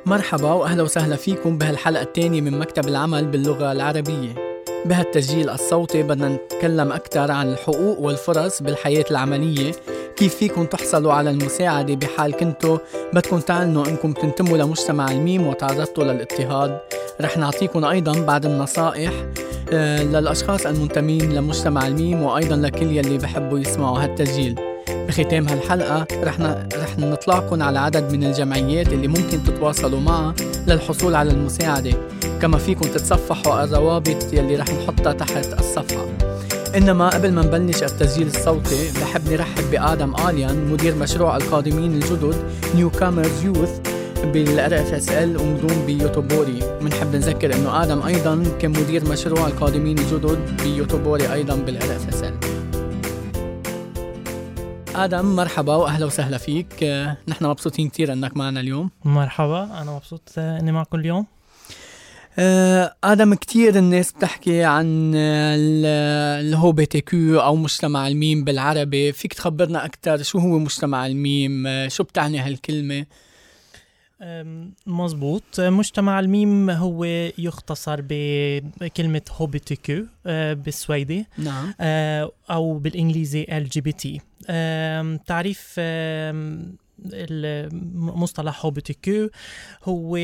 مرحبا وأهلا وسهلا فيكم بهالحلقة الثانية من مكتب العمل باللغة العربية. بهالتسجيل الصوتي بدنا نتكلم أكثر عن الحقوق والفرص بالحياة العملية، كيف فيكم تحصلوا على المساعدة بحال كنتوا بدكم تعلنوا أنكم تنتموا لمجتمع الميم وتعرضتوا للاضطهاد. رح نعطيكم أيضا بعض النصائح للأشخاص المنتمين لمجتمع الميم وأيضا لكل يلي بحبوا يسمعوا هالتسجيل. بختام هالحلقة رح نطلعكم على عدد من الجمعيات اللي ممكن تتواصلوا معها للحصول على المساعدة، كما فيكم تتصفحوا الروابط يلي رح نحطها تحت الصفحة. إنما قبل ما نبلش التسجيل الصوتي بحب نرحب بآدم آليان، مدير مشروع القادمين الجدد Newcomers Youth بالRFSL ومدون بيوتوبوري. منحب نذكر إنه آدم أيضا كمدير مشروع القادمين الجدد بيوتوبوري أيضا بالRFSL. آدم مرحبا وأهلا وسهلا فيك. نحن مبسوطين كتير أنك معنا اليوم. مرحبا، أنا مبسوط أني معكم اليوم. آدم، كتير الناس بتحكي عن LGBTQ أو مجتمع الميم بالعربي، فيك تخبرنا أكتر شو هو مجتمع الميم؟ شو بتعني هالكلمة؟ مزبوط، مجتمع الميم هو يختصر بكلمة HBTQ بالسويدي. نعم. أو بالإنجليزي LGBT. تعريف المصطلح HBTQ هو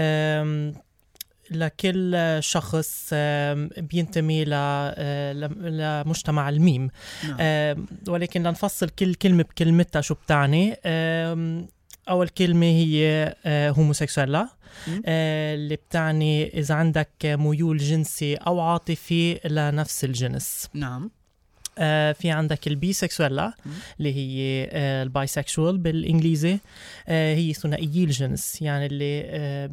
لكل شخص بينتمي لمجتمع الميم. نعم. ولكن لنفصل كل كلمة بكلمتها شو بتعني. أول كلمة هي هوموسيكسويلا، اللي بتعني إذا عندك ميول جنسي أو عاطفي لنفس الجنس. نعم. في عندك البيسكسويلا اللي هي البايسكشوال بالإنجليزي، هي ثنائيي الجنس، يعني اللي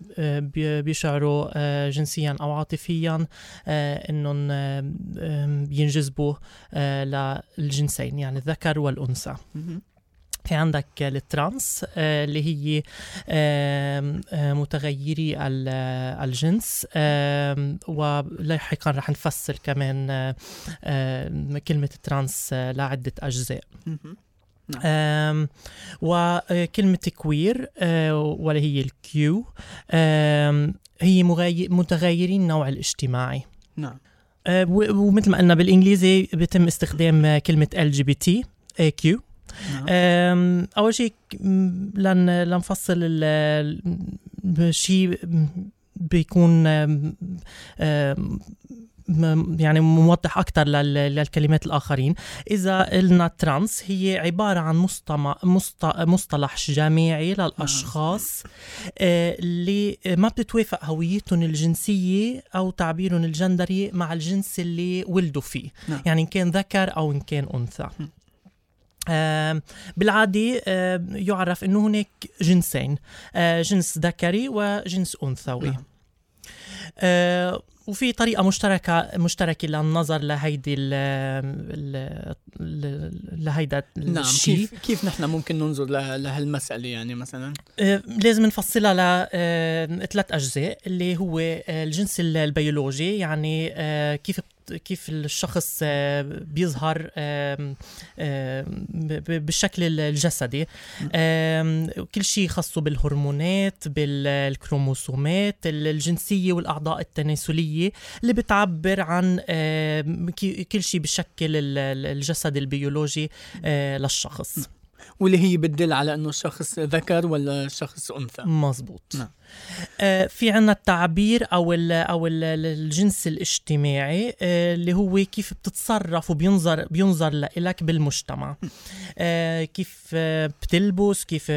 بيشعروا جنسيا أو عاطفيا إنهم بينجذبوا للجنسين، يعني الذكر والأنثى. في عندك الترانس اللي هي متغيري الجنس، ولاحقا رح نفصل كمان كلمة الترانس لعدة أجزاء. وكلمة كوير ولا هي الكيو هي متغيرين النوع الاجتماعي. نعم. ومثل ما قلنا بالإنجليزي بيتم استخدام كلمة LGBTQ. أول شيء لنفصل شيء بيكون يعني موضح أكتر للكلمات الآخرين. إذا قلنا ترانس هي عبارة عن مصطلح جامعي للأشخاص اللي ما بتتوافق هويتهم الجنسية أو تعبيرهم الجندري مع الجنس اللي ولدوا فيه. يعني إن كان ذكر أو إن كان أنثى. بالعادة يعرف أنه هناك جنسين، جنس ذكري وجنس أنثوي. وفي طريقة مشتركة للنظر لهيدا الشيء. نعم. كيف نحن ممكن ننظر لهالمسألة؟ يعني مثلا لازم نفصلها لثلاث أجزاء، اللي هو الجنس البيولوجي، يعني كيف الشخص بيظهر بالشكل الجسدي، كل شيء خاصه بالهرمونات، بالكروموسومات، الجنسية والأعضاء التناسلية اللي بتعبر عن كل شيء بشكل الجسد البيولوجي للشخص، واللي هي بتدل على أنه الشخص ذكر ولا شخص أنثى. مزبوط. نعم. في عنا التعبير أو الجنس الاجتماعي، اللي هو كيف بتتصرف وبينظر لك بالمجتمع، كيف بتلبس، كيف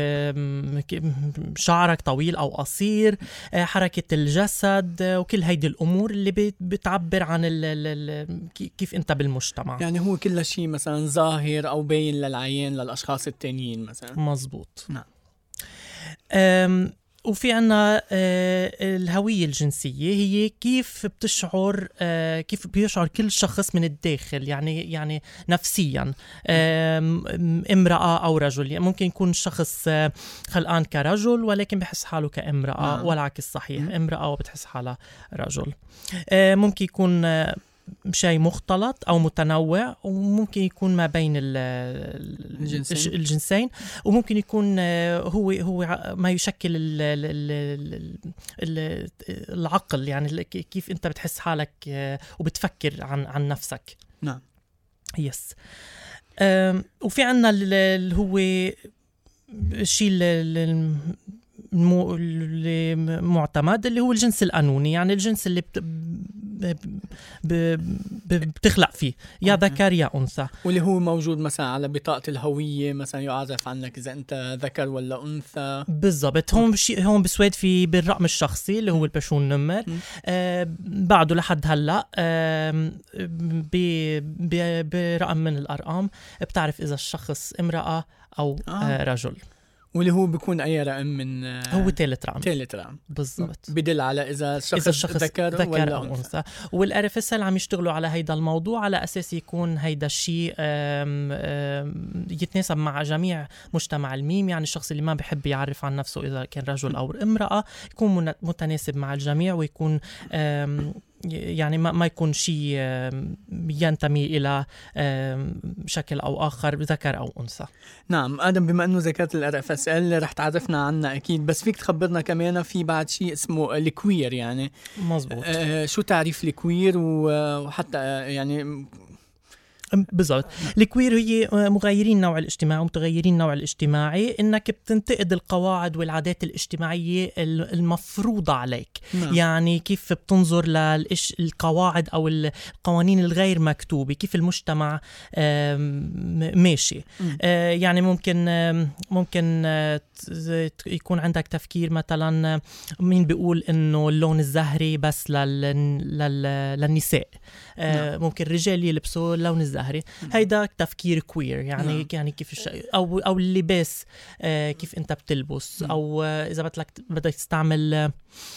شعرك طويل أو قصير، حركة الجسد، وكل هيدي الأمور اللي بتعبر عن كيف أنت بالمجتمع. يعني هو كل شيء مثلا ظاهر أو باين للعيان للأشخاص التانيين مثلا. مزبوط. نعم. وفي عنا الهوية الجنسية، هي كيف بيشعر كل شخص من الداخل، يعني نفسيا، امرأة أو رجل. يعني ممكن يكون شخص خلقان كرجل ولكن بحس حاله كامرأة، والعكس صحيح، امرأة وبتحس حالها رجل. ممكن يكون شيء مختلط أو متنوع، وممكن يكون ما بين الجنسين، وممكن يكون هو ما يشكل العقل، يعني كيف أنت بتحس حالك وبتفكر عن نفسك. نعم. يس. وفي عنا اللي هو الشيء المعتمد اللي هو الجنس القانوني، يعني الجنس اللي بتخلق فيه يا ذكر يا أنثى، واللي هو موجود مثلا على بطاقة الهوية، مثلا يعرف عنك إذا أنت ذكر ولا أنثى. بالضبط. هون بسويد في بالرقم الشخصي اللي هو البشون نمر. بعده لحد هلا برقم من الأرقام بتعرف إذا الشخص امرأة أو رجل، واللي هو بيكون أي رقم من هو ثالث رقم بالضبط، بدل على إذا الشخص ذكر ولا أو أنثى. والRFSL عم يشتغلوا على هيدا الموضوع على أساس يكون هيدا الشيء يتناسب مع جميع مجتمع الميم، يعني الشخص اللي ما بيحب يعرف عن نفسه إذا كان رجل أو امرأة يكون متناسب مع الجميع، ويكون يعني ما يكون شيء ينتمي إلى شكل أو آخر ذكر أو أنثى. نعم. آدم، بما أنه ذكرت الRFSL رح تعرفنا عنها أكيد، بس فيك تخبرنا كمان في بعد شيء اسمه الكوير. يعني مزبوط. شو تعريف الكوير وحتى يعني بالضبط. الكوير هي مغايرين النوع الاجتماعي ومتغيرين النوع الاجتماعي، انك بتنتقد القواعد والعادات الاجتماعية المفروضة عليك. يعني كيف بتنظر للقواعد او القوانين الغير مكتوبة، كيف المجتمع ماشي. يعني ممكن يكون عندك تفكير مثلا مين بيقول انه اللون الزهري بس للنساء، ممكن الرجال يلبسوا اللون الزهري. هيدا تفكير كوير، يعني كيف او اللباس، كيف انت بتلبس، او اذا بدك تستعمل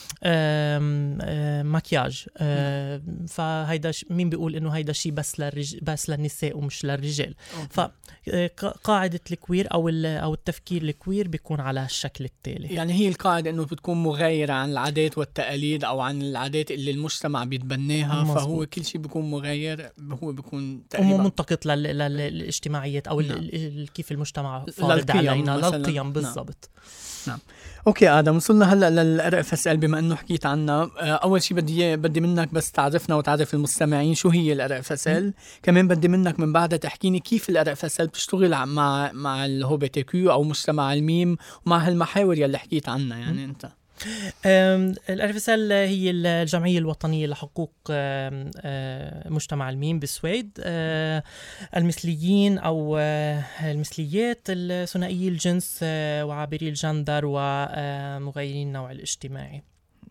مكياج، فهيدا مين بيقول انه هيدا شيء بس للنساء ومش للرجال. فقاعدة الكوير او التفكير الكوير بيكون على الشكل التالي. يعني هي القاعدة انه بتكون مغايرة عن العادات والتقاليد او عن العادات اللي المجتمع بيتبناها. مزبوط. فهو كل شيء بيكون مغاير، هو بيكون تقريبا منتقد للاجتماعيات او كيف المجتمع فارض علينا للقيم. بالضبط. نعم. اوكي آدم، وصلنا هلا للRFSL بما انه حكيت عنها. اول شيء بدي منك بس تعرفنا وتعرف المستمعين شو هي الRFSL. كمان بدي منك من بعدها تحكيني كيف الRFSL بتشتغل مع الHBTQ او مجتمع الميم ومع هالمحاور يلي حكيت عنها. يعني انت الRFSL هي الجمعية الوطنية لحقوق مجتمع الميم بالسويد، المثليين أو المثليات، الثنائيي الجنس وعابري الجندر ومغيرين النوع الاجتماعي.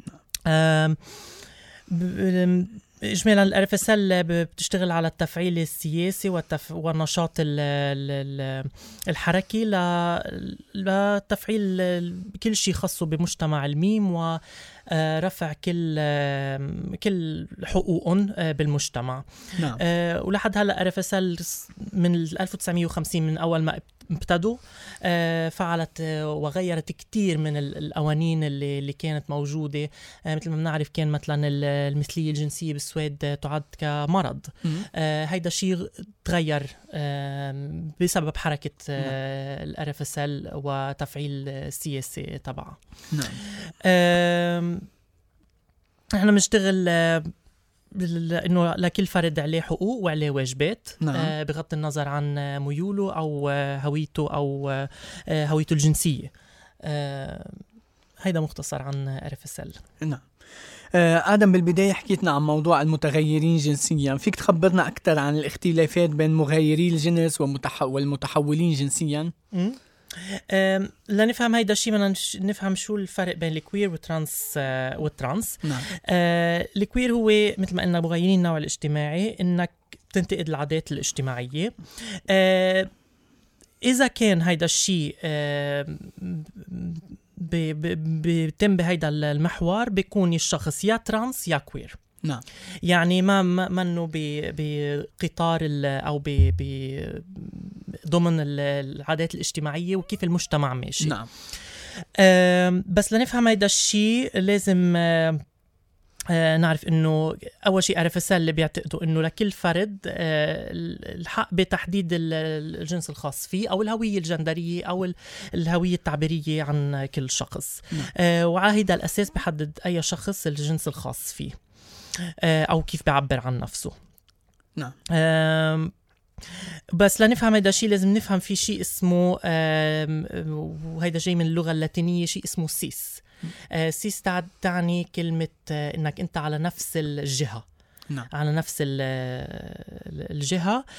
إجمالا الRFSL بتشتغل على التفعيل السياسي والنشاط الحركي لتفعيل كل شيء خاصه بمجتمع الميم ورفع كل حقوقهم بالمجتمع. نعم. ولحد هلا RFSL من 1950 من أول ما ابتدوا فعلت وغيرت كتير من القوانين اللي كانت موجودة. مثل ما بنعرف كان مثلا المثلية الجنسية بالسويد تعد كمرض. هيدا شيء تغير بسبب حركة الRFSL وتفعيل السياسي تبعها. نعم. احنا بنشتغل انه لكل فرد عليه حقوق وعليه واجبات. نعم. بغض النظر عن ميوله او هويته او هويته الجنسيه. هيدا مختصر عن RFSL. نعم. آدم، بالبداية حكيتنا عن موضوع المتغيرين جنسيا، فيك تخبرنا أكثر عن الاختلافات بين مغيري الجنس والمتحولين جنسيا؟ لنفهم هيدا الشيء بدنا نفهم شو الفرق بين الكوير والترانس. نعم. الكوير هو مثل ما قلنا مغيرين النوع الاجتماعي، انك تنتقد العادات الاجتماعية. إذا كان هيدا الشيء بيتم بهيدا المحور بيكون الشخص يا ترانس يا كوير. نعم. يعني ما انه بقطار او ضمن العادات الاجتماعية وكيف المجتمع ماشي. نعم. بس لنفهم هيدا الشيء لازم نعرف انه اول شيء RFSL اللي بيعتقدوا انه لكل فرد الحق بتحديد الجنس الخاص فيه او الهويه الجندريه او الهويه التعبيريه عن كل شخص. وعلى هيدا الاساس بحدد اي شخص الجنس الخاص فيه او كيف بيعبر عن نفسه. نعم. بس لنفهم هيدا الشيء لازم نفهم في شيء اسمه وهيدا جاي من اللغه اللاتينيه شيء اسمه سيس. سيس تعني كلمة إنك أنت على نفس الجهة. نعم. على نفس الجهة.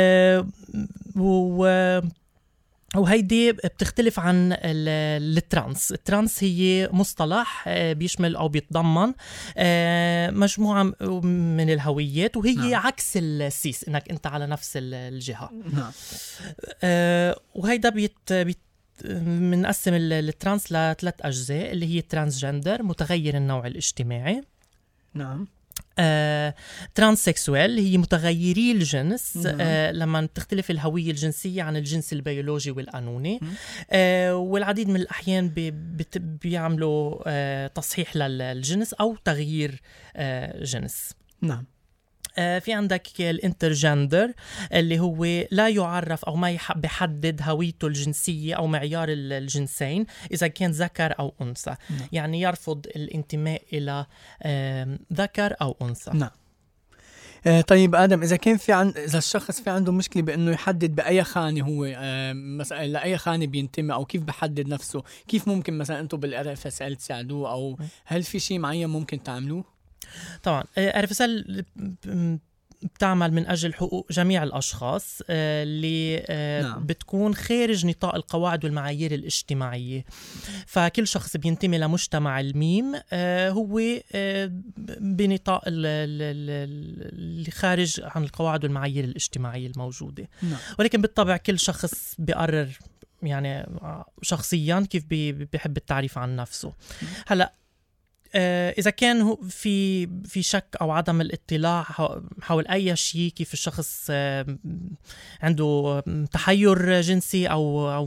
وهيدي بتختلف عن الترانس. الترانس هي مصطلح بيشمل أو بيتضمن مجموعة من الهويات وهي نعم. عكس السيس إنك أنت على نفس الجهة. نعم. وهيدا منقسم الترانس لثلاث أجزاء اللي هي ترانسجندر متغير النوع الاجتماعي. نعم. ترانسكسوال هي متغيري الجنس. لما تختلف الهوية الجنسية عن الجنس البيولوجي والقانوني. والعديد من الأحيان بيعملوا تصحيح للجنس أو تغيير جنس. نعم. في عندك الانترجندر اللي هو لا يعرف أو ما بيحدد هويته الجنسية أو معيار الجنسين إذا كان ذكر أو أنثى. يعني يرفض الانتماء إلى ذكر أو أنثى. نعم. طيب آدم، إذا الشخص في عنده مشكلة بأنه يحدد بأي خانة هو مثلا لأي خانة بينتمي أو كيف بحدد نفسه، كيف ممكن مثلا أنتم بالRFSL تساعدوه أو هل في شيء معين ممكن تعملوه؟ طبعا RFSL بتعمل من أجل حقوق جميع الأشخاص اللي نعم. بتكون خارج نطاق القواعد والمعايير الاجتماعية. فكل شخص بينتمي لمجتمع الميم هو بنطاق اللي خارج عن القواعد والمعايير الاجتماعية الموجودة. نعم. ولكن بالطبع كل شخص بيقرر يعني شخصيا كيف بيحب التعريف عن نفسه. هلأ إذا كان في شك أو عدم الاطلاع حول أي شيء، كيف الشخص عنده تحير جنسي أو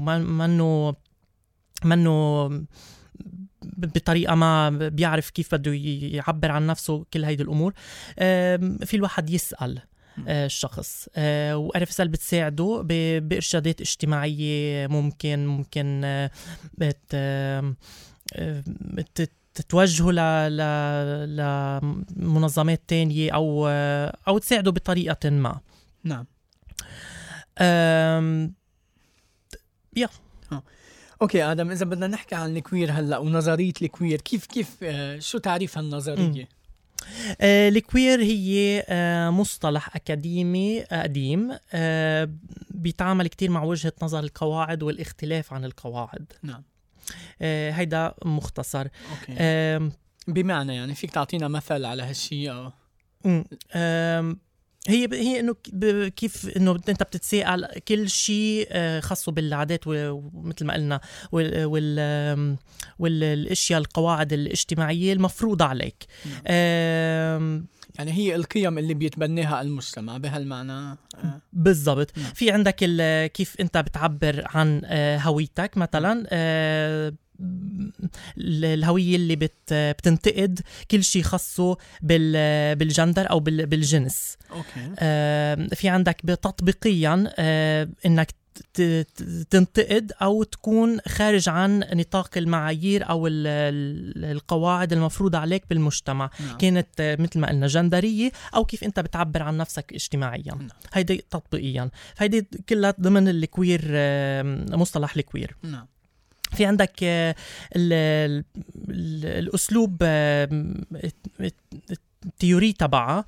منه بطريقة ما بيعرف كيف بده يعبر عن نفسه، كل هيدي الأمور في الواحد يسأل الشخص. وRFSL بتساعده بإرشادات اجتماعية ممكن تتوجهه لمنظمات تانية أو تساعده بطريقة ما. نعم. يا أوكي آدم، إذا بدنا نحكي عن الكوير هلأ ونظرية الكوير، كيف شو تعريف هالنظرية؟ الكوير هي مصطلح أكاديمي قديم بيتعامل كتير مع وجهة نظر القواعد والاختلاف عن القواعد. نعم. هيدا مختصر. أوكي. بمعنى يعني فيك تعطينا مثل على هالشيء؟ هي انه كيف انه انت بتتساءل كل شيء خاصه بالعادات ومثل ما قلنا والاشياء القواعد الاجتماعيه المفروضه عليك. يعني هي القيم اللي بيتبناها المجتمع بهالمعنى. بالضبط. في عندك كيف انت بتعبر عن هويتك مثلا. الهوية اللي بتنتقد كل شيء خاصه بالجندر أو بالجنس. أوكي. في عندك تطبيقيا إنك تنتقد أو تكون خارج عن نطاق المعايير أو القواعد المفروضة عليك بالمجتمع. نعم. كانت مثل ما قلنا جندرية أو كيف أنت بتعبر عن نفسك اجتماعيا. نعم. هيدي تطبيقيا، هيدي كلها ضمن الكوير، مصطلح الكوير. نعم. في عندك الأسلوب التيوري تبعها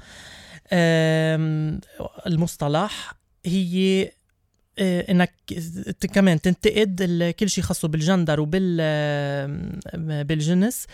المصطلح هي انك كمان تنتقد كل شيء خاصه بالجندر بالجنس،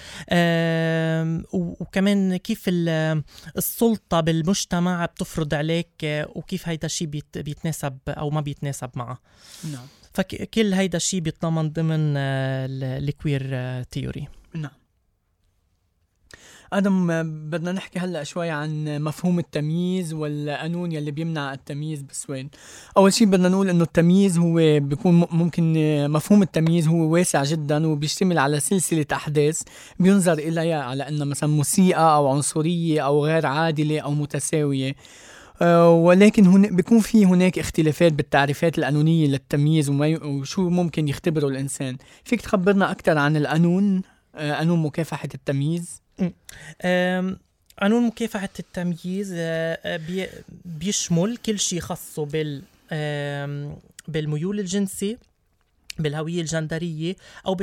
وكمان كيف السلطة بالمجتمع بتفرض عليك وكيف هيدا الشيء بيتناسب او ما بيتناسب معه. نعم. فكل هيدا الشيء بيتضمن ضمن الكوير تيوري. نعم. آدم، بدنا نحكي هلأ شوي عن مفهوم التمييز والقانون يلي بيمنع التمييز بالسويد. أول شيء بدنا نقول إنه التمييز هو بيكون ممكن مفهوم التمييز هو واسع جدا وبيشتمل على سلسلة أحداث بينظر إليها على إنها مثلا مسيئة أو عنصرية أو غير عادلة أو متساوية. ولكن بيكون في هناك اختلافات بالتعريفات القانونية للتمييز وشو ممكن يختبره الإنسان. فيك تخبرنا أكتر عن القانون، قانون مكافحة التمييز؟ قانون مكافحة التمييز بيشمل كل شيء خاصه بالميول الجنسي، بالهوية الجندرية أو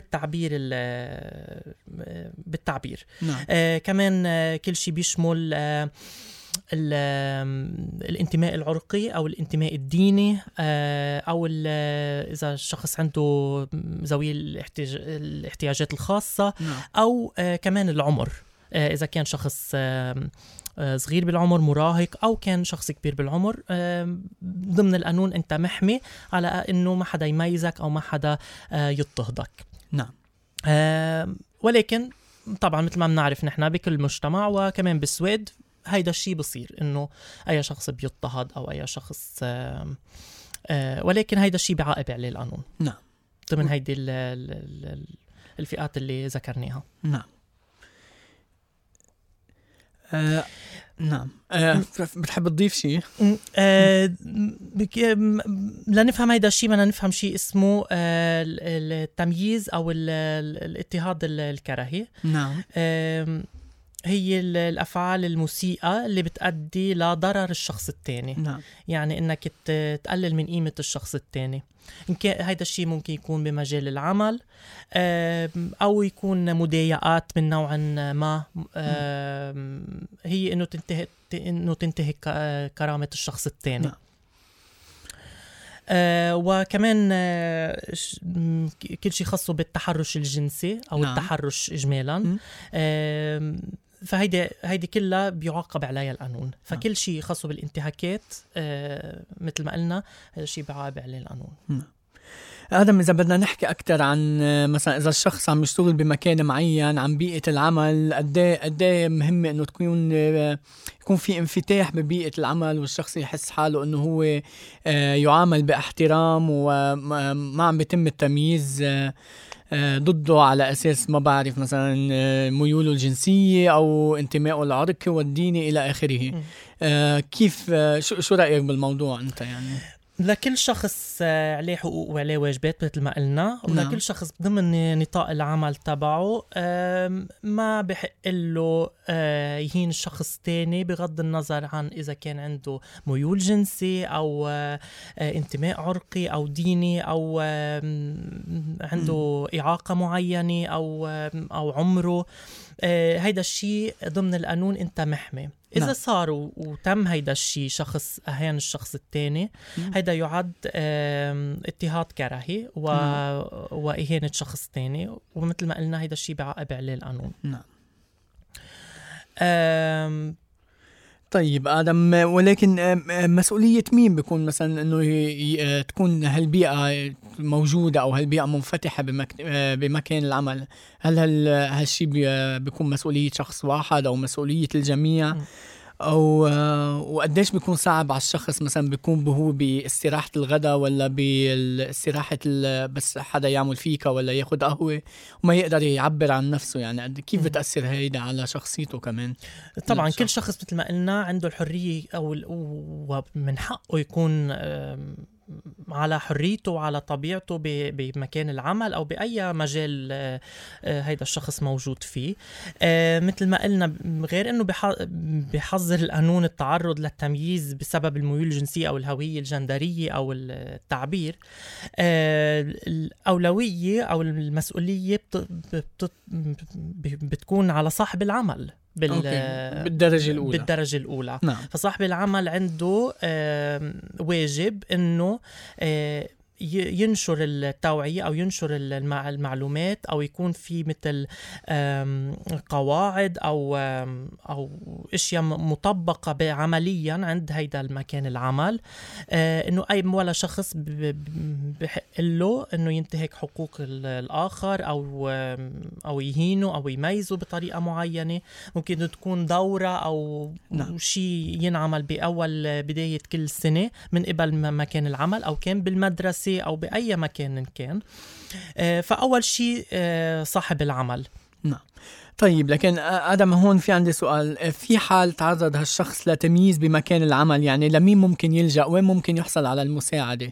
بالتعبير. نعم. كمان كل شيء بيشمل الانتماء العرقي أو الانتماء الديني، أو إذا الشخص عنده ذوي الاحتياجات الخاصة. نعم. أو كمان العمر، إذا كان شخص صغير بالعمر مراهق أو كان شخص كبير بالعمر، ضمن القانون أنت محمي على أنه ما حدا يميزك أو ما حدا يضطهدك. نعم. ولكن طبعا مثل ما بنعرف نحن بكل مجتمع وكمان بالسويد هيدا الشيء بصير إنه أي شخص بيضطهد أو أي شخص، ولكن هيدا الشيء بعاقب عليه القانون. نعم. ضمن هيدي الفئات اللي ذكرناها. نعم. نعم. بتحب تضيف شيء؟ لنفهم هيدا الشيء بدنا نفهم شيء اسمه التمييز أو الاضطهاد الكراهي. نعم. هي الأفعال المسيئة اللي بتؤدي لضرر الشخص التاني. نعم. يعني إنك تقلل من قيمة الشخص التاني. إن كان هيدا الشيء ممكن يكون بمجال العمل، أو يكون مضايقات من نوع ما، هي إنه تنتهك كرامة الشخص التاني. نعم. وكمان كل شيء خاصه بالتحرش الجنسي أو نعم. التحرش إجمالا. فهيدي كلها بيعاقب عليها القانون. فكل شيء خاصه بالانتهاكات مثل ما قلنا هذا الشيء بيعاقب عليه القانون. آدم، إذا بدنا نحكي أكتر عن مثلا إذا الشخص عم يشتغل بمكان معين، عن بيئة العمل، قديه مهم إنه يكون في انفتاح ببيئة العمل والشخص يحس حاله إنه هو يعامل باحترام وما عم بيتم التمييز ضده على أساس ما بعرف مثلا ميوله الجنسية أو انتمائه العرقي والديني إلى آخره. كيف شو رأيك بالموضوع أنت؟ يعني لكل شخص عليه حقوق وعليه واجبات مثل ما قلنا، ولكل شخص ضمن نطاق العمل تبعه ما بحق له يهين الشخص تاني بغض النظر عن إذا كان عنده ميول جنسي أو انتماء عرقي أو ديني أو عنده إعاقة معينة أو عمره. هيدا الشيء ضمن القانون أنت محمي. إذا صار وتم هيدا الشيء، شخص أهان الشخص التاني، هيدا يعد اضطهاد كراهي وإهانة شخص تاني، ومثل ما قلنا هيدا الشيء بعاقب عليه القانون. نعم. طيب آدم، ولكن مسؤولية مين بيكون مثلا إنه تكون هالبيئة موجودة أو هالبيئة منفتحة بمكان العمل؟ هل هالشي بيكون مسؤولية شخص واحد أو مسؤولية الجميع؟ أو وقديش بيكون صعب على الشخص مثلا بيكون هو باستراحة الغداء ولا باستراحة بس حدا يعمل فيكا ولا ياخد قهوة وما يقدر يعبر عن نفسه؟ يعني كيف بتأثر هيدا على شخصيته كمان؟ طبعا كل شخص مثل ما قلنا عنده الحرية ومن حقه يكون على حريته وعلى طبيعته بمكان العمل أو بأي مجال هيدا الشخص موجود فيه. مثل ما قلنا، غير أنه بحظر القانون التعرض للتمييز بسبب الميول الجنسية أو الهوية الجندرية أو التعبير، الأولوية أو المسؤولية بتكون على صاحب العمل بالدرجة الأولى. نعم. فصاحب العمل عنده واجب إنه ينشر التوعية أو ينشر المعلومات، أو يكون في مثل قواعد أو أشياء مطبقة عمليا عند هيدا المكان العمل، إنه أي ولا شخص بحق له إنه ينتهك حقوق الآخر أو يهينه أو يميزه بطريقة معينة. ممكن تكون دورة أو شيء ينعمل بأول بداية كل سنة من قبل مكان العمل، أو كان بالمدرسة أو بأي مكان كان. فأول شيء صاحب العمل. نعم. طيب، لكن آدم هون في عندي سؤال. في حال تعرض هالشخص لتمييز بمكان العمل، يعني لمين ممكن يلجأ؟ وين ممكن يحصل على المساعدة؟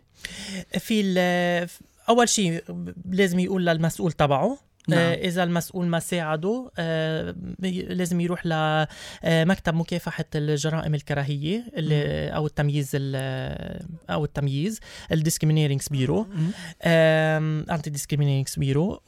أول شيء لازم يقول للمسؤول تبعه. نعم. إذا المسؤول ما ساعده لازم يروح لمكتب مكافحة الجرائم الكراهية أو التمييز الديسكريمينيرينجز بيرو، أنتي ديسكريمينيرينجز بيرو،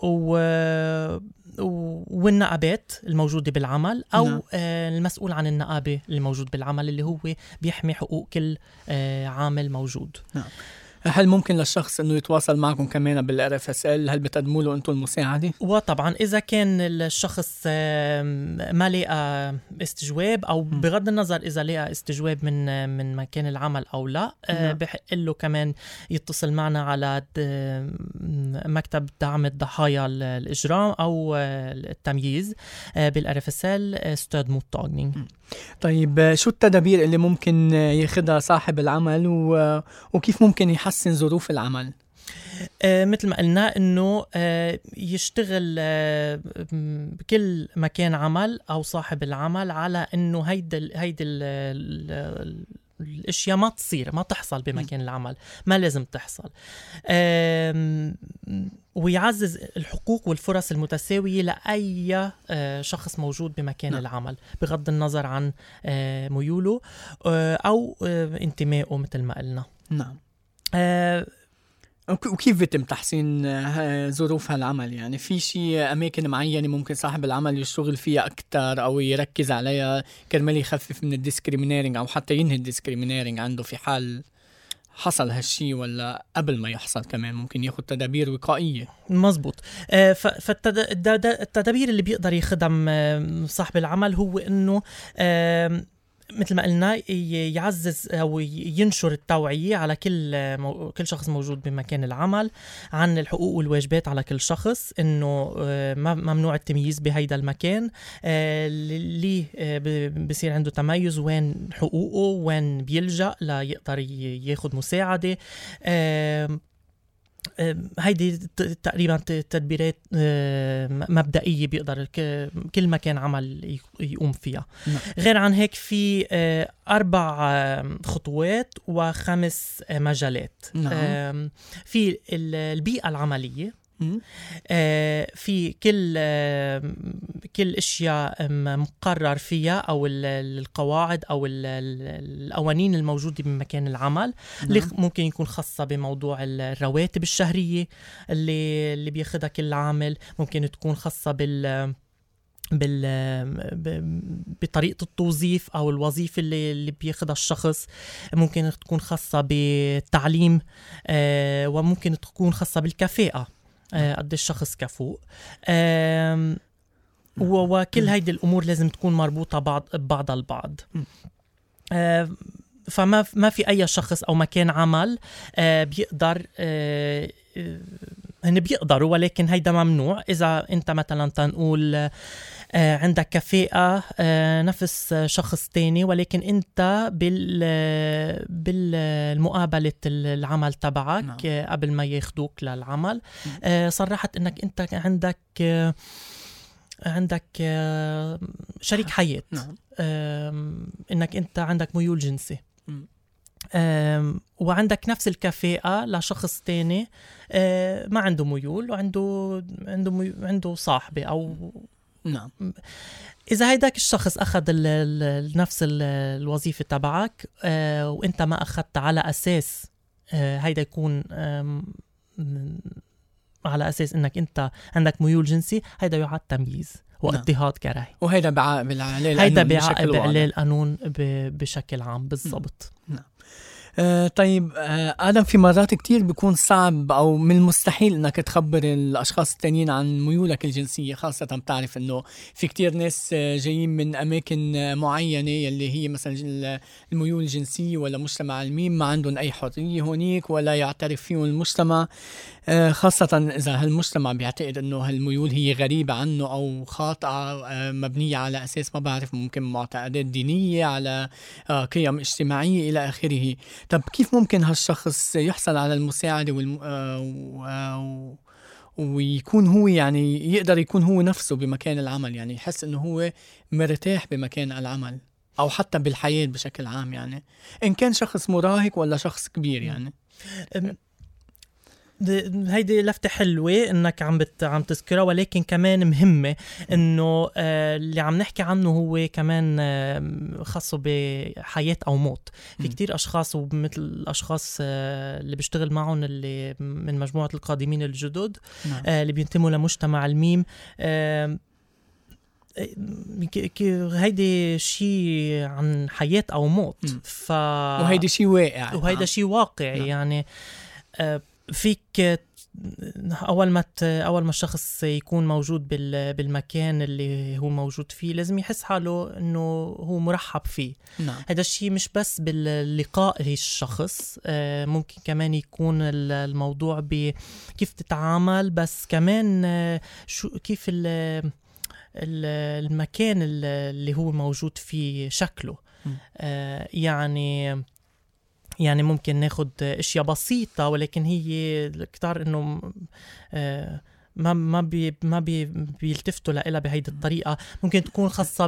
والنقابات الموجودة بالعمل، أو المسؤول عن النقابة الموجود بالعمل اللي هو بيحمي حقوق كل عامل موجود. نعم. هل ممكن للشخص انه يتواصل معكم كمان بالRFSL؟ هل بتقدموا له انتم المساعده؟ وطبعا اذا كان الشخص ما لقى استجواب، او بغض النظر اذا لقى استجواب من مكان العمل او لا، بحق له كمان يتصل معنا على مكتب دعم الضحايا الاجرام او التمييز بالRFSL استاد موتاغنينج. طيب، شو التدابير اللي ممكن ياخدها صاحب العمل وكيف ممكن يحسن ظروف العمل؟ مثل ما قلنا انه يشتغل بكل مكان عمل او صاحب العمل على انه هيدا الاشياء ما تصير، ما تحصل بمكان العمل، ما لازم تحصل. ويعزز الحقوق والفرص المتساوية لأي شخص موجود بمكان العمل بغض النظر عن ميوله أو انتمائه مثل ما قلنا. نعم. وكيف بيتم تحسين ظروف هالعمل؟ يعني في شيء أماكن معينة ممكن صاحب العمل يشتغل فيها أكتر أو يركز عليها كرمال يخفف من الديسكريمينيرينج أو حتى ينهي الديسكريمينيرينج عنده في حال حصل هالشي، ولا قبل ما يحصل كمان ممكن ياخد تدابير وقائية؟ مزبوط. فالتدابير اللي بيقدر يخدم صاحب العمل هو إنه مثل ما قلنا يعزز أو ينشر التوعية على كل شخص موجود بمكان العمل عن الحقوق والواجبات على كل شخص، إنه ممنوع التمييز بهيدا المكان، اللي بصير عنده تميز وين حقوقه، وين بيلجأ ليقدر ياخد مساعدة. هيدي تقريبا تدبيرات مبدئية بيقدر كل مكان عمل يقوم فيها. غير عن هيك في 4 خطوات و5 مجالات. في البيئة العملية، في كل اشياء مقرر فيها او القواعد او القوانين الموجوده بمكان العمل، اللي ممكن يكون خاصه بموضوع الرواتب الشهريه اللي بياخدها كل عامل، ممكن تكون خاصه بطريقة التوظيف أو الوظيفة اللي بياخدها الشخص، ممكن تكون خاصة بالتعليم، وممكن تكون خاصة بالكفاءة، قد الشخص كفوء. وكل هيدي الأمور لازم تكون مربوطة ببعضها البعض. فما في أي شخص أو مكان عمل بيقدر هن بيقدروا، ولكن هيدا ممنوع. إذا أنت مثلا تنقول عندك كفاءة نفس شخص تاني، ولكن أنت بالمقابلة العمل تبعك قبل ما ياخدوك للعمل صرحت أنك أنت عندك شريك حياة، أنك أنت عندك ميول جنسي، وعندك نفس الكفاءة لشخص تاني ما عنده ميول وعنده صاحبة أو نعم. إذا هيداك الشخص أخذ نفس الوظيفة تبعك وإنت ما أخذت على أساس هيدا يكون على أساس إنك أنت عندك ميول جنسي، هيدا يعد تمييز واضطهاد كراهي، وهيدا بيعاقب عليه القانون بشكل عام. بالضبط. نعم. طيب آدم، في مرات كتير بيكون صعب أو من المستحيل إنك تخبر الأشخاص التانيين عن ميولك الجنسية، خاصة بتعرف إنه في كتير ناس جايين من أماكن معينة يلي هي مثلا الميول الجنسية ولا مجتمع الميم ما عندهم أي حرية هونيك ولا يعترف فيهم المجتمع، خاصة إذا هالمجتمع بيعتقد إنه هالميول هي غريبة عنه أو خاطئة، مبنية على أساس ما بعرف ممكن معتقدات دينية، على قيم اجتماعية إلى آخره. طب كيف ممكن هالشخص يحصل على المساعدة ويكون هو يعني يقدر يكون هو نفسه بمكان العمل، يعني يحس إنه هو مرتاح بمكان العمل أو حتى بالحياة بشكل عام، يعني إن كان شخص مراهق ولا شخص كبير يعني. هيدي لفتة حلوة انك عم تذكرها، ولكن كمان مهمة انه اللي عم نحكي عنه هو كمان خاصه بحياة او موت. في كتير اشخاص ومثل الاشخاص اللي بيشتغل معهم اللي من مجموعة القادمين الجدد اللي بينتموا لمجتمع الميم، هيدي شيء عن حياة او موت. وهيدي شيء واقع، وهيدا شيء واقعي. يعني فيك اول ما الشخص يكون موجود بالمكان اللي هو موجود فيه لازم يحس حاله انه هو مرحب فيه. هذا الشيء مش بس باللقاء الشخص، ممكن كمان يكون الموضوع بكيف تتعامل، بس كمان كيف المكان اللي هو موجود فيه شكله. يعني ممكن ناخد اشياء بسيطة، ولكن هي كتار انه ما بيلتفتوا لها بهيدي الطريقة. ممكن تكون خاصة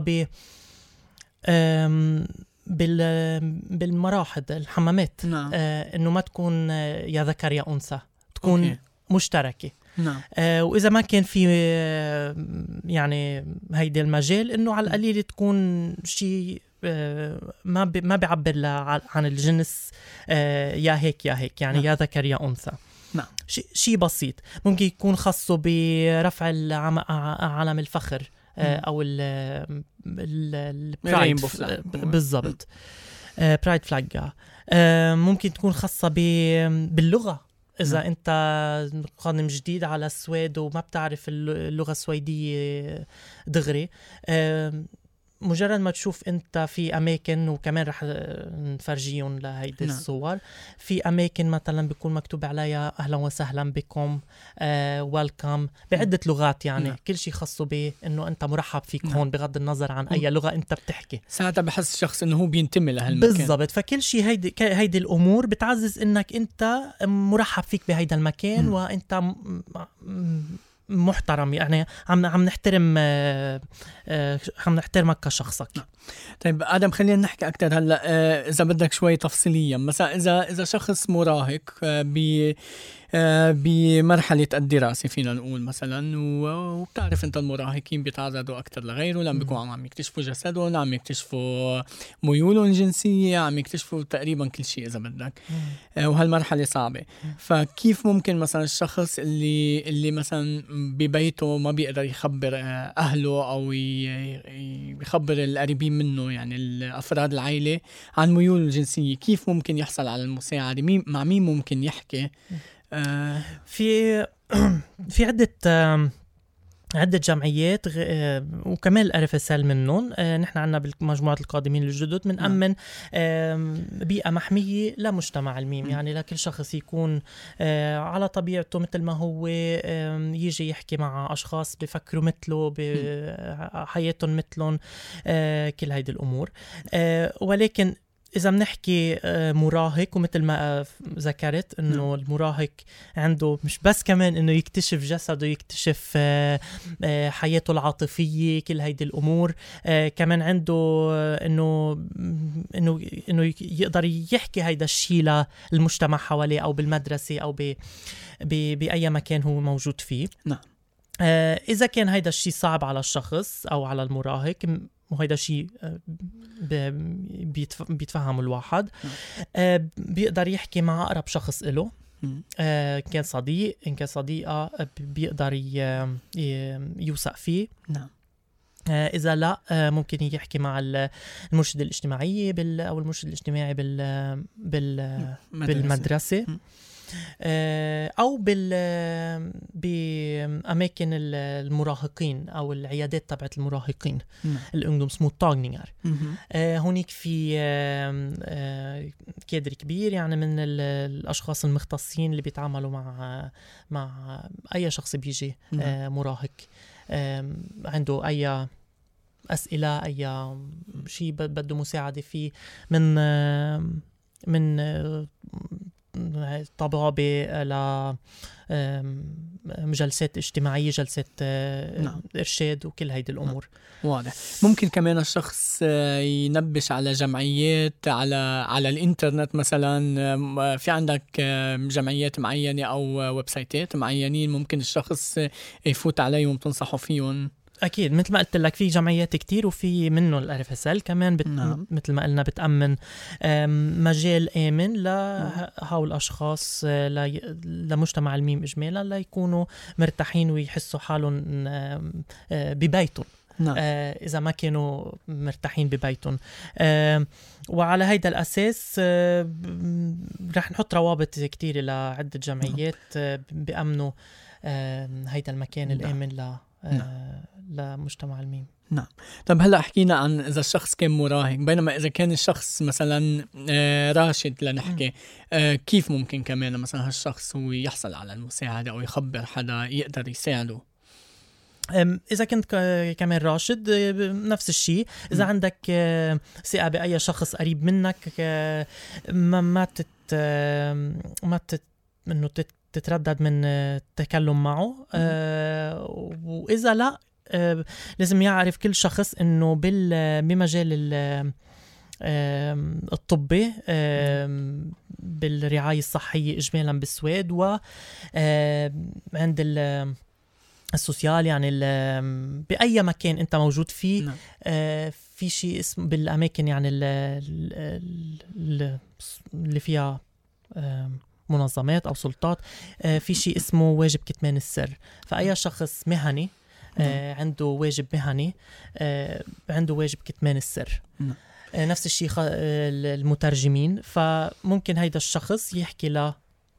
بالمراحض، الحمامات، انه ما تكون يا ذكر يا انثى، تكون مشتركة. وإذا ما كان في يعني هيدي المجال، إنه على القليل تكون شيء ما بيعبر عن الجنس، يا هيك يا هيك، يعني يا ذكر يا أنثى. شيء بسيط. ممكن يكون خاصه برفع علم الفخر، أو البرايد، بالضبط، برايد فلاج. ممكن تكون خاصة باللغة. إذا أنت قادم جديد على السويد وما بتعرف اللغة السويدية دغري، مجرد ما تشوف أنت في أماكن، وكمان رح نفرجيهم لهيدي الصور، في أماكن مثلا بيكون مكتوب عليها أهلا وسهلا بكم، welcome، بعدة لغات. يعني كل شيء خاصه بأنه أنت مرحب فيك هون، بغض النظر عن أي لغة أنت بتحكي. ساعتها بحس الشخص أنه هو بينتمي لهالمكان. بالضبط. فكل شيء هيدي الأمور بتعزز أنك أنت مرحب فيك بهيدا المكان، وأنت محترم. يعني عم نحترمك كشخصك. طيب آدم، خلينا نحكي أكتر هلأ، إذا بدك شوي تفصيليا. مثلا إذا شخص مراهق بمرحلة الدراسة فينا نقول مثلا، وبتعرف أنت المراهقين بيتعرضوا أكتر لغيره، لما بيكونوا عم يكتشفوا جسدهم، عم يكتشفوا ميولهم الجنسية، عم يكتشفوا تقريبا كل شيء إذا بدك، وهالمرحلة صعبة. فكيف ممكن مثلا الشخص اللي مثلا ببيته ما بيقدر يخبر أهله أو يخبر القريبين منه، يعني الأفراد العائلة، عن ميوله الجنسية، كيف ممكن يحصل على المساعدة؟ مع مين ممكن يحكي؟ في عدة جمعيات، وكمان الRFSL منهم. نحن عنا بمجموعة القادمين الجدد من أمن بيئة محمية لمجتمع الميم، يعني لكل شخص يكون على طبيعته مثل ما هو، يجي يحكي مع أشخاص بفكروا مثله، بحياتهم مثلهم، كل هيدي الأمور. ولكن إذا بنحكي مراهق، ومثل ما ذكرت إنه المراهق عنده مش بس كمان إنه يكتشف جسده، يكتشف حياته العاطفية، كل هيدي الأمور، كمان عنده إنه يقدر يحكي هيدا الشيء للمجتمع حواليه، أو بالمدرسة، أو بأي مكان هو موجود فيه. إذا كان هيدا الشيء صعب على الشخص أو على المراهق، وهيدا شيء بيتفهم الواحد، بيقدر يحكي مع أقرب شخص له، كان صديق، إن كان صديقة، بيقدر يوثق فيه. إذا لا ممكن يحكي مع المرشد الاجتماعي أو المرشد الاجتماعي بالمدرسة، أو بأماكن المراهقين أو العيادات تبعت المراهقين الأنجدومسموتاغنينgar. هونيك في كادر كبير يعني من الأشخاص المختصين اللي بيتعاملوا مع أي شخص بيجي مراهق عنده أي أسئلة، أي شيء بده مساعدة فيه، من طبابة لجلسات اجتماعية، جلسات إرشاد وكل هيدي الأمور. واضح. ممكن كمان الشخص ينبش على جمعيات على الإنترنت مثلا، في عندك جمعيات معينة أو ويب سايتات معينين ممكن الشخص يفوت عليهم تنصحوا فيهم؟ أكيد مثل ما قلت لك في جمعيات كتير، وفي منه الRFSL كمان مثل ما قلنا بتأمن مجال آمن لهؤلاء الأشخاص، لمجتمع الميم إجمالا، ليكونوا مرتاحين ويحسوا حالهم ببيتهم إذا ما كانوا مرتاحين ببيتهم. وعلى هيدا الأساس رح نحط روابط كتير لعدة جمعيات بيأمنوا هيدا المكان الآمن لمجتمع الميم. نعم. طب هلأ حكينا عن إذا الشخص كان مراهق، بينما إذا كان الشخص مثلا راشد لنحكي، كيف ممكن كمان مثلا هالشخص هو يحصل على المساعدة أو يخبر حدا يقدر يساعده؟ إذا كنت كمان راشد نفس الشيء. إذا عندك ثقة بأي شخص قريب منك، ما تتردد من التكلم معه. وإذا لا، لازم يعرف كل شخص إنه بمجال الطبي بالرعاية الصحية إجمالا بالسويد، وعند السوسيال يعني بأي مكان أنت موجود فيه، في شيء اسمه بالأماكن يعني اللي فيها منظمات أو سلطات، في شيء اسمه واجب كتمان السر. فأي شخص مهني عنده واجب مهني، عنده واجب كتمان السر. نفس الشيء المترجمين، فممكن هيدا الشخص يحكي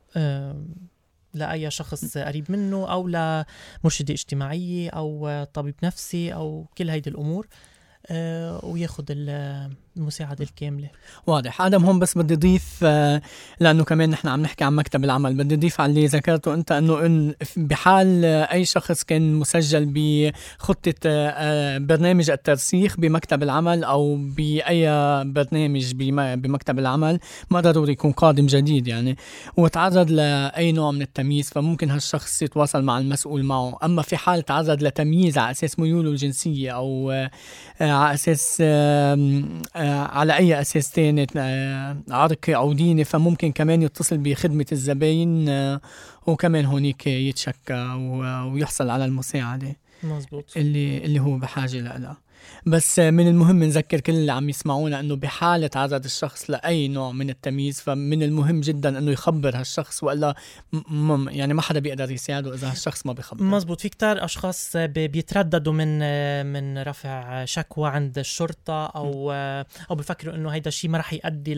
لأي شخص قريب منه، أو لمرشدة اجتماعية أو طبيب نفسي أو كل هيدي الأمور، وياخد المساعدة الكاملة. واضح. آدم هون بس بدي أضيف، لأنه كمان نحن عم نحكي عن مكتب العمل، بدي أضيف على اللي ذكرته أنت، أنه بحال أي شخص كان مسجل بخطة برنامج الترسيخ بمكتب العمل أو بأي برنامج بمكتب العمل، ما ضروري يكون قادم جديد يعني، وتعرض لأي نوع من التمييز، فممكن هالشخص يتواصل مع المسؤول معه. أما في حال تعرض لتمييز على أساس ميوله الجنسية أو على أساس على أي أساس تاني عرقي أو ديني، فممكن كمان يتصل بخدمة الزباين وكمان هونيك يتشكى ويحصل على المساعدة. مزبوط. اللي هو بحاجة لها. بس من المهم نذكر كل اللي عم يسمعونا أنه بحالة تعرض الشخص لأي نوع من التمييز، فمن المهم جدا أنه يخبر هالشخص، وإلا يعني ما حدا بيقدر يساعده إذا هالشخص ما بيخبر. مزبوط. في كتار أشخاص بيترددوا من رفع شكوى عند الشرطة، أو بيفكروا أنه هيدا الشيء ما رح يؤدي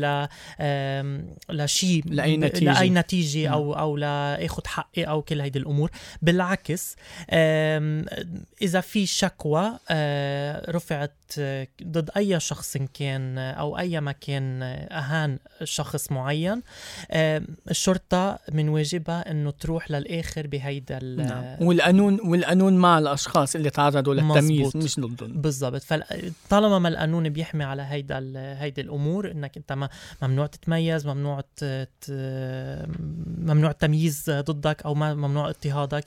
لشيء، لأي نتيجة أو لأخذ حقي أو كل هيدي الأمور. بالعكس، إذا في شكوى رفعت ضد أي شخص كان أو أي مكان أهان شخص معين، الشرطة من واجبها أنه تروح للآخر بهيدا والقانون مع الأشخاص اللي تعرضوا للتمييز، مش ضدهم. بالضبط. فطالما ما القانون بيحمي على هيدا الأمور، إنك أنت ممنوع تتميز، ممنوع التمييز ضدك، أو ممنوع اضطهادك،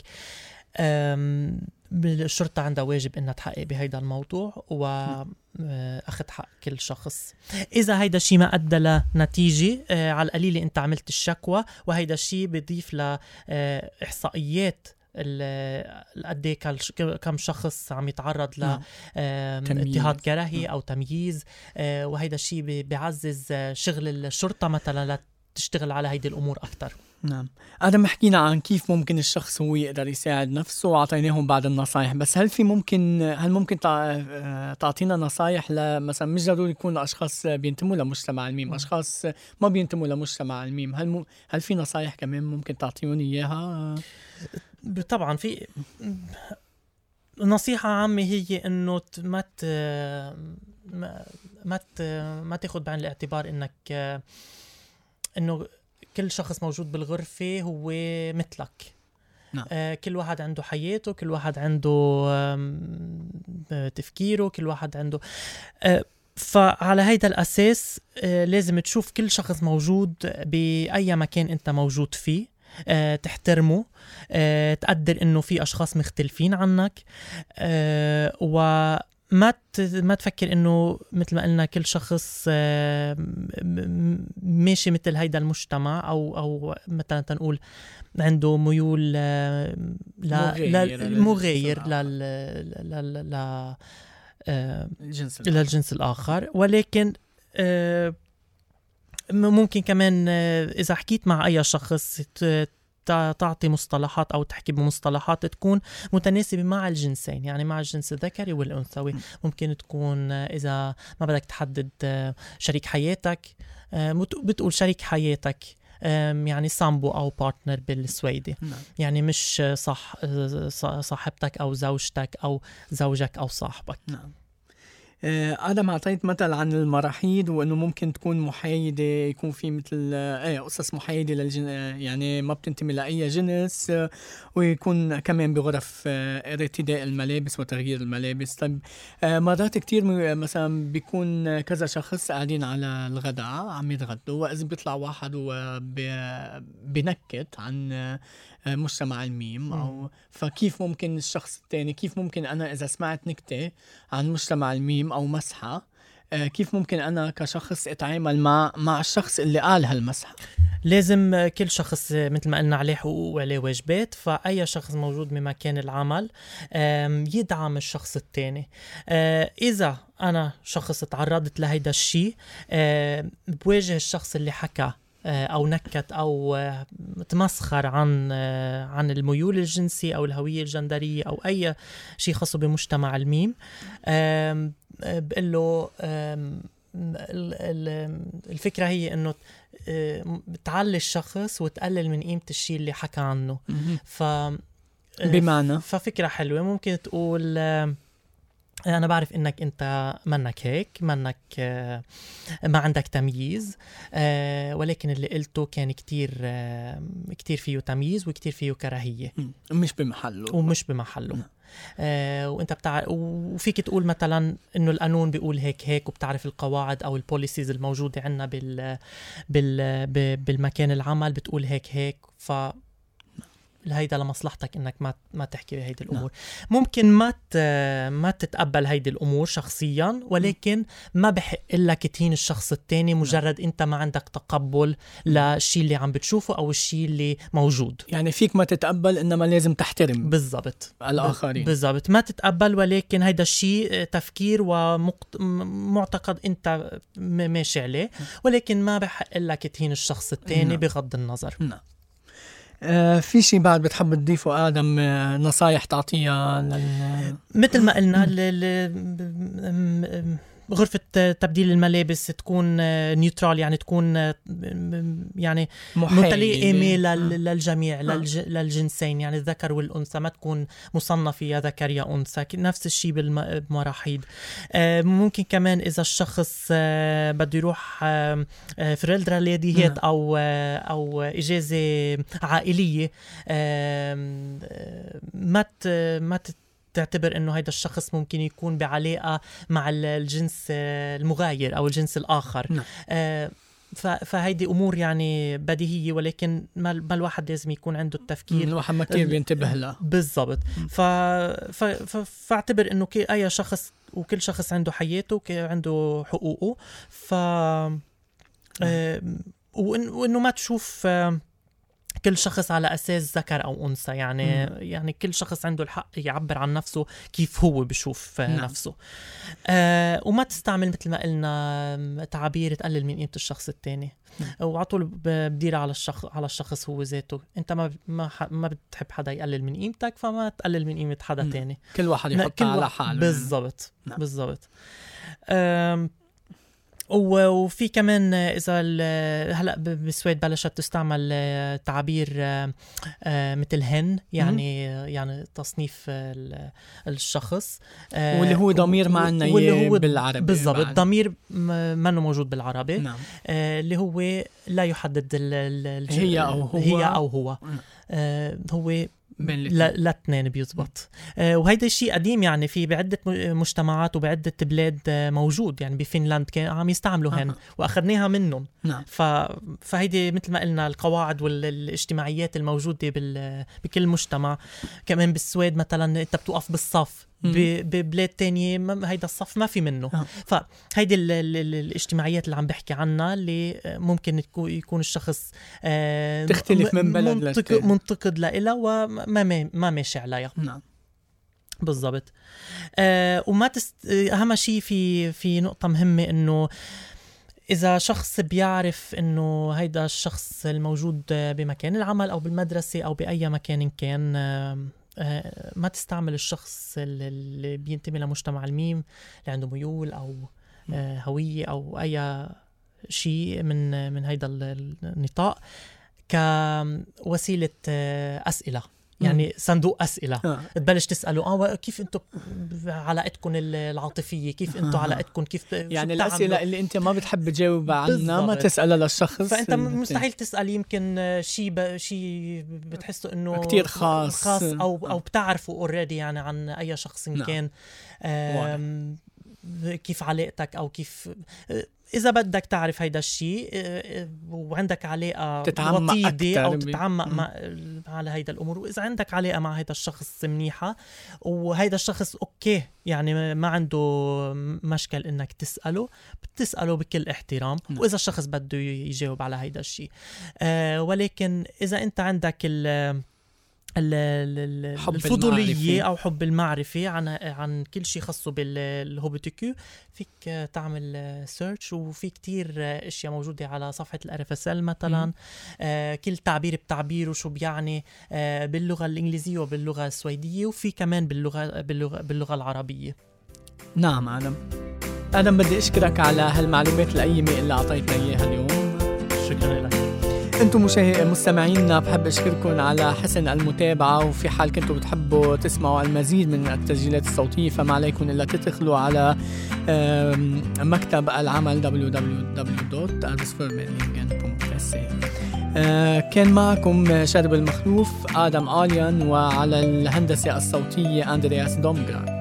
الشرطة عندها واجب إنها تحقق بهيدا الموضوع وأخذ حق كل شخص. إذا هيدا الشيء ما أدى لنتيجة، على القليل أنت عملت الشكوى، وهيدا الشيء بيضيف لإحصائيات قد كم شخص عم يتعرض لاضطهاد كراهي أو تمييز، وهيدا الشيء بيعزز شغل الشرطة مثلا تشتغل على هيدي الأمور أكتر. نعم. آدم، حكينا عن كيف ممكن الشخص هو يقدر يساعد نفسه وعطيناهم بعض النصايح، بس هل ممكن تعطينا نصايح مثلا مش ضروري يكونوا أشخاص بينتموا لمجتمع الميم، أشخاص ما بينتموا لمجتمع الميم، هل في نصايح كمان ممكن تعطيوني إياها؟ طبعا في نصيحة عامة، هي إنه ما تاخد بعين الاعتبار إنه كل شخص موجود بالغرفة هو مثلك. نعم. كل واحد عنده حياته، كل واحد عنده تفكيره، كل واحد عنده فعلى هيدا الأساس لازم تشوف كل شخص موجود بأي مكان أنت موجود فيه، تحترمه، تقدر إنه في أشخاص مختلفين عنك، ما تفكر إنه مثل ما قلنا كل شخص ماشي مثل هيدا المجتمع أو مثلا تنقول عنده ميول مغاير للجنس الآخر. ولكن ممكن كمان إذا حكيت مع أي شخص تعطي مصطلحات أو تحكي بمصطلحات تكون متناسبة مع الجنسين، يعني مع الجنس الذكري والأنثوي. ممكن تكون إذا ما بدك تحدد شريك حياتك بتقول شريك حياتك، يعني سامبو أو بارتنر بالسويدي. يعني مش صاحبتك أو زوجتك أو زوجك أو صاحبك. نعم. آدم، أعطيت مثل عن المراحيض وأنه ممكن تكون محايدة، يكون في مثل قصص محايدة يعني ما بتنتمي لأي جنس، ويكون كمان بغرف ارتداء الملابس وتغيير الملابس. طيب مرات كتير مثلا بيكون كذا شخص قاعدين على الغداء عم يتغدوا، وإذا بيطلع واحد وبنكت عن مجتمع الميم أو فكيف ممكن الشخص الثاني، كيف ممكن أنا إذا سمعت نكتة عن مجتمع الميم أو مسحة، كيف ممكن أنا كشخص أتعامل مع الشخص اللي قال هالمسحة؟ لازم كل شخص مثل ما قلنا عليه حقوق وعليه واجبات، فأي شخص موجود بمكان العمل يدعم الشخص التاني. إذا أنا شخص تعرضت لهيدا الشيء، بواجه الشخص اللي حكى أو نكت أو تمسخر عن الميول الجنسي أو الهوية الجندرية أو أي شيء خاص بمجتمع الميم، بقول له الفكرة هي إنه تعلي الشخص وتقلل من قيمة الشيء اللي حكى عنه. بمعنى ففكرة حلوة ممكن تقول أنا بعرف إنك أنت منك هيك، منك ما عندك تمييز، ولكن اللي قلته كان كتير فيه تمييز وكتير فيه كراهية، ومش بمحله. وانت وفيك تقول مثلا انه القانون بيقول هيك وبتعرف القواعد او البوليسيز الموجودة عندنا بالمكان العمل بتقول هيك هيدا لمصلحتك انك ما تحكي بهيدي الامور. ممكن ما تتقبل هيدي الامور شخصيا، ولكن ما بحق لك تهين الشخص التاني مجرد انت ما عندك تقبل للشيء اللي عم بتشوفه او الشيء اللي موجود. يعني فيك ما تتقبل، انما لازم تحترم بالضبط الاخرين. بالضبط، ما تتقبل، ولكن هيدا الشيء تفكير ومعتقد انت ماشي عليه، ولكن ما بحق لك تهين الشخص التاني بغض النظر. في شيء بعد بتحب تضيفه آدم، نصايح تعطيها مثل ما قلنا غرفة تبديل الملابس تكون نيوترال، يعني تكون يعني متلائمة للجميع، للجنسين، يعني الذكر والأنثى، ما تكون مصنفة يا ذكر يا أنثى. نفس الشيء بالمراحيض. ممكن كمان إذا الشخص بده يروح فريلدرا ليديهات أو إجازة عائلية، ما تعتبر انه هيدا الشخص ممكن يكون بعلاقة مع الجنس المغاير او الجنس الاخر. فهيدي امور يعني بديهية، ولكن ما الواحد لازم يكون عنده التفكير، الواحد ما كتير بينتبه له. بالضبط. فاعتبر انه اي شخص وكل شخص عنده حياته وعنده حقوقه، وانه ما تشوف كل شخص على أساس ذكر أو أنثى، يعني كل شخص عنده الحق يعبر عن نفسه كيف هو بشوف نفسه. وما تستعمل مثل ما قلنا تعابير تقلل من قيمة الشخص التاني، وعطول بديرها على الشخص هو ذاته. انت ما بتحب حدا يقلل من قيمتك، فما تقلل من قيمة حدا تاني. كل واحد يحط على حاله. بالضبط. بالضبط. وفي كمان إذا هلأ بالسويد بلشت تستعمل تعابير مثل هن، يعني تصنيف الشخص، واللي هو ضمير معنا بالعربي. بالضبط. ضمير ما موجود بالعربي. نعم. اللي هو لا يحدد هي أو هو. هو لا اثنين بيزبط. وهيدا الشيء قديم، يعني في بعدة مجتمعات وبعدة بلاد موجود، يعني بفنلاند كان عم يستعملوا هن وأخذناها منهم. نعم. فهيدي مثل ما قلنا القواعد والاجتماعيات الموجودة بكل مجتمع. كمان بالسويد مثلا انت بتوقف بالصف، ببلاد تانية هيدا الصف ما في منه. فهيدي الاجتماعيات اللي عم بحكي عنها، اللي ممكن يكون الشخص تختلف من بلد منتقد لإلها وما ماشي عليها. نعم. بالضبط. وما أهم شيء في نقطة مهمة، إنه إذا شخص بيعرف إنه هيدا الشخص الموجود بمكان العمل أو بالمدرسة أو بأي مكان كان، ما تستعمل الشخص اللي بينتمي لمجتمع الميم، اللي عنده ميول أو هوية أو أي شيء من هيدا النطاق كوسيلة أسئلة. يعني صندوق أسئلة تبلش تسأله كيف أنتوا علاقتكم العاطفية، كيف أنتوا علاقتكم، كيف يعني الأسئلة اللي أنت ما بتحب تجاوب عنها ما تسألها للشخص. فأنت مستحيل تسأل يمكن شيء بتحسه إنه كتير خاص أو بتعرفه أوريدي، يعني عن أي شخص كان. كيف علاقتك، أو كيف إذا بدك تعرف هيدا الشيء وعندك علاقة وطيدة أو تتعمق على هيدا الأمور، وإذا عندك علاقة مع هيدا الشخص منيحة وهيدا الشخص أوكي، يعني ما عنده مشكل إنك بتسأله بكل احترام. وإذا الشخص بده يجاوب على هيدا الشيء، ولكن إذا أنت عندك الفضولية أو حب المعرفة عن كل شيء خاصه بالهوبتيكو، فيك تعمل سيرش، وفي كتير اشياء موجودة على صفحة الRFSL مثلا. كل تعبير بتعبيره شو بيعني باللغة الإنجليزية وباللغة السويدية، وفي كمان باللغة العربية. نعم. آدم بدي أشكرك على هالمعلومات القيمة اللي أعطيتنا إياها اليوم. شكرا لك. انتم مستمعينا، بحب اشكركم على حسن المتابعة، وفي حال كنتوا بتحبوا تسمعوا المزيد من التسجيلات الصوتية فما عليكم إلا تدخلوا على مكتب العمل www.arbetsförmedlingen.se. كان معكم شرب المخلوف آدم آليان، وعلى الهندسة الصوتية أندرياس دومغراد.